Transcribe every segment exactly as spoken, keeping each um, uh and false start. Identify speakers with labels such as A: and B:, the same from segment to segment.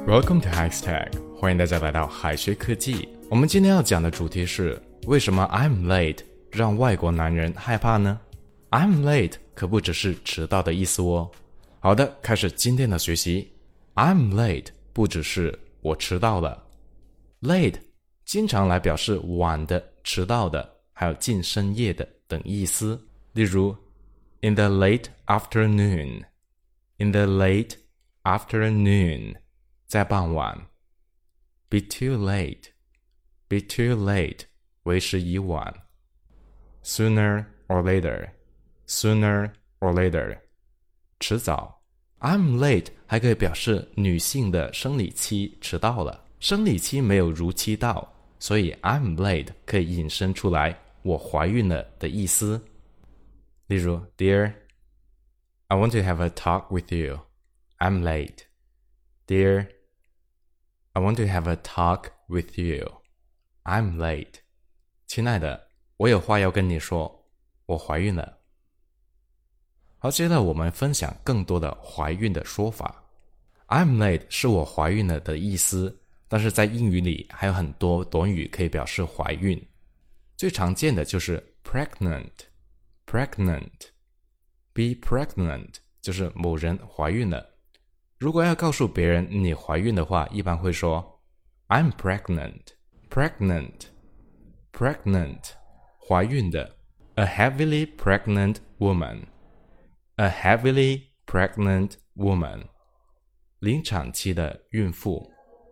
A: Welcome to Hextech， 欢迎大家来到海学科技。我们今天要讲的主题是为什么 I'm late 让外国男人害怕呢？ I'm late 可不只是迟到的意思哦。好的，开始今天的学习。 I'm late 不只是我迟到了， late 经常来表示晚的、迟到的，还有近深夜的等意思。例如 In the late afternoon， In the late afternoon， 在傍晚。 Be too late， Be too late， 为时已晚。 Sooner or later， Sooner or later， 迟早。 I'm late 还可以表示女性的生理期迟到了，生理期没有如期到，所以 I'm late 可以引申出来我怀孕了的意思。例如 Dear, I want to have a talk with you. I'm late. Dear, I want to have a talk with you. I'm late. 亲爱的，我有话要跟你说，我怀孕了。好，接着我们分享更多的怀孕的说法。 I'm late 是我怀孕了的意思，但是在英语里还有很多短语可以表示怀孕。最常见的就是 pregnant pregnant be pregnant 就是某人怀孕了。如果要告诉别人你怀孕的话，一般会说 I'm pregnant pregnant pregnant 怀孕的。 A heavily pregnant woman A heavily pregnant woman 临产期的孕妇。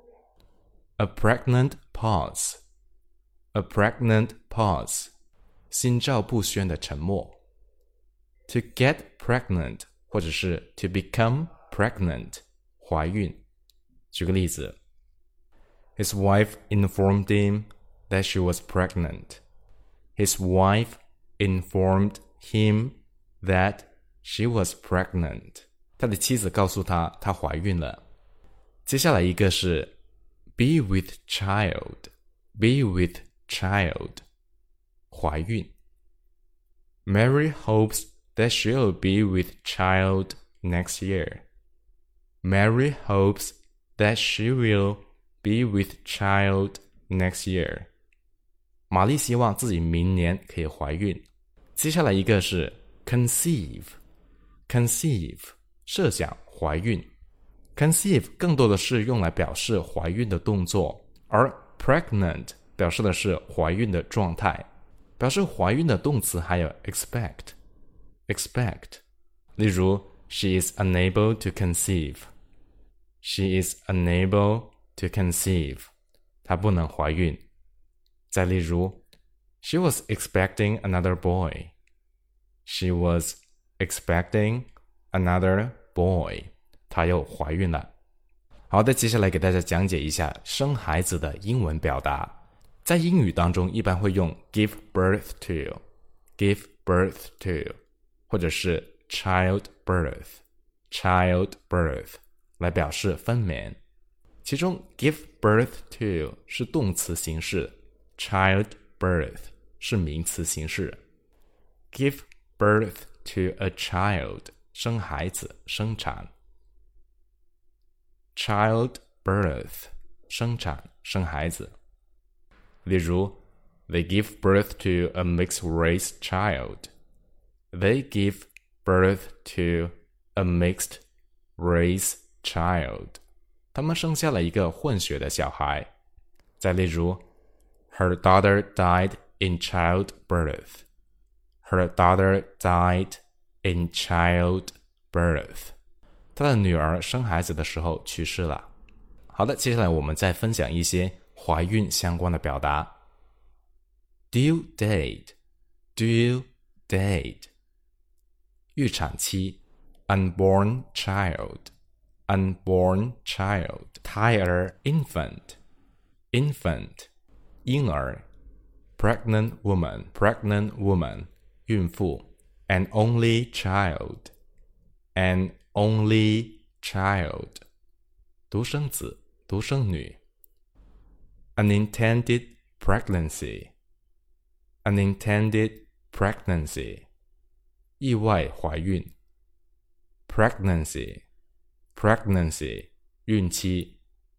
A: A pregnant pause A pregnant pause 心照不宣的沉默。 To get pregnant 或者是 to become pregnant 怀孕。举个例子 His wife informed him that she was pregnant. His wife informed him that she was pregnant. 他的妻子告诉他她怀孕了。接下来一个是 be with child Be with child 怀孕。 Mary hopes that she'll be with child next year. Mary hopes that she will be with child next year. 玛丽希望自己明年可以怀孕。接下来一个是 conceive Conceive 设想怀孕。 Conceive 更多的是用来表示怀孕的动作，而 pregnant 表示的是怀孕的状态。表示怀孕的动词还有 expect expect 例如 She is unable to conceive She is unable to conceive 她不能怀孕。再例如 She was expecting another boy She was expecting another boy 她又怀孕了。好的，接下来给大家讲解一下生孩子的英文表达。在英语当中一般会用 give birth to give birth to 或者是 child birth child birth 来表示分娩。其中 give birth to 是动词形式， child birth 是名词形式。 give birth to a child 生孩子生产。 child birth 生产生孩子。例如 They give birth to a mixed race child They give birth to a mixed race child 他们生下了一个混血的小孩。再例如 Her daughter died in childbirth Her daughter died in childbirth 她的女儿生孩子的时候去世了。好的，接下来我们再分享一些怀孕相关的表达。 Due date Due date 预产期 Unborn child Unborn child 胎儿 Infant Infant 婴儿。 Pregnant woman Pregnant woman 孕妇。 An only child An only child 独生子独生女。Unintended pregnancy Unintended pregnancy 意外怀孕。 Pregnancy Pregnancy 孕期。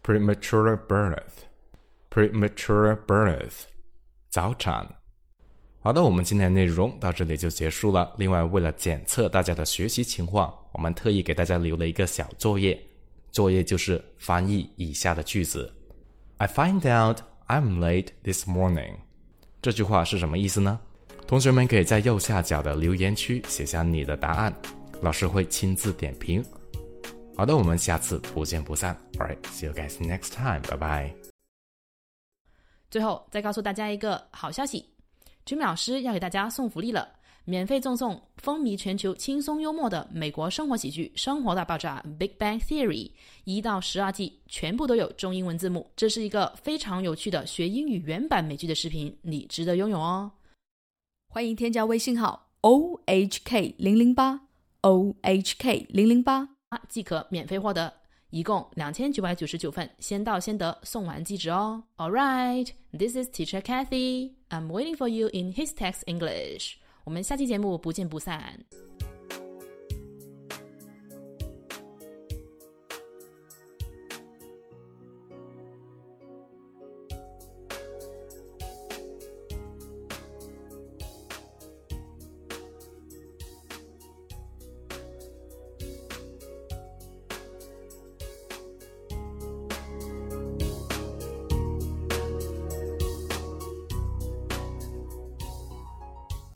A: premature birth premature birth 早产。好的，我们今天的内容到这里就结束了。另外，为了检测大家的学习情况，我们特意给大家留了一个小作业，作业就是翻译以下的句子。I find out I'm late this morning。这句话是什么意思呢？同学们可以在右下角的留言区写下你的答案，老师会亲自点评。好的，我们下次不见不散。Alright, see you guys next time. Bye bye.
B: 最后再告诉大家一个好消息。Jimmy 老师要给大家送福利了，免费赠送风靡全球轻松幽默的美国生活喜剧《生活大爆炸 Big Bang Theory》一到十二季全部都有中英文字幕，这是一个非常有趣的学英语原版美剧的视频，你值得拥有哦。
C: 欢迎添加微信号 O H K 零零八 O H K 零零八
B: 即可免费获得，一共两千九百九十九份，先到先得，送完即止哦。Alright, this is Teacher Kathy. I'm waiting for you in His Text English. 我们下期节目不见不散。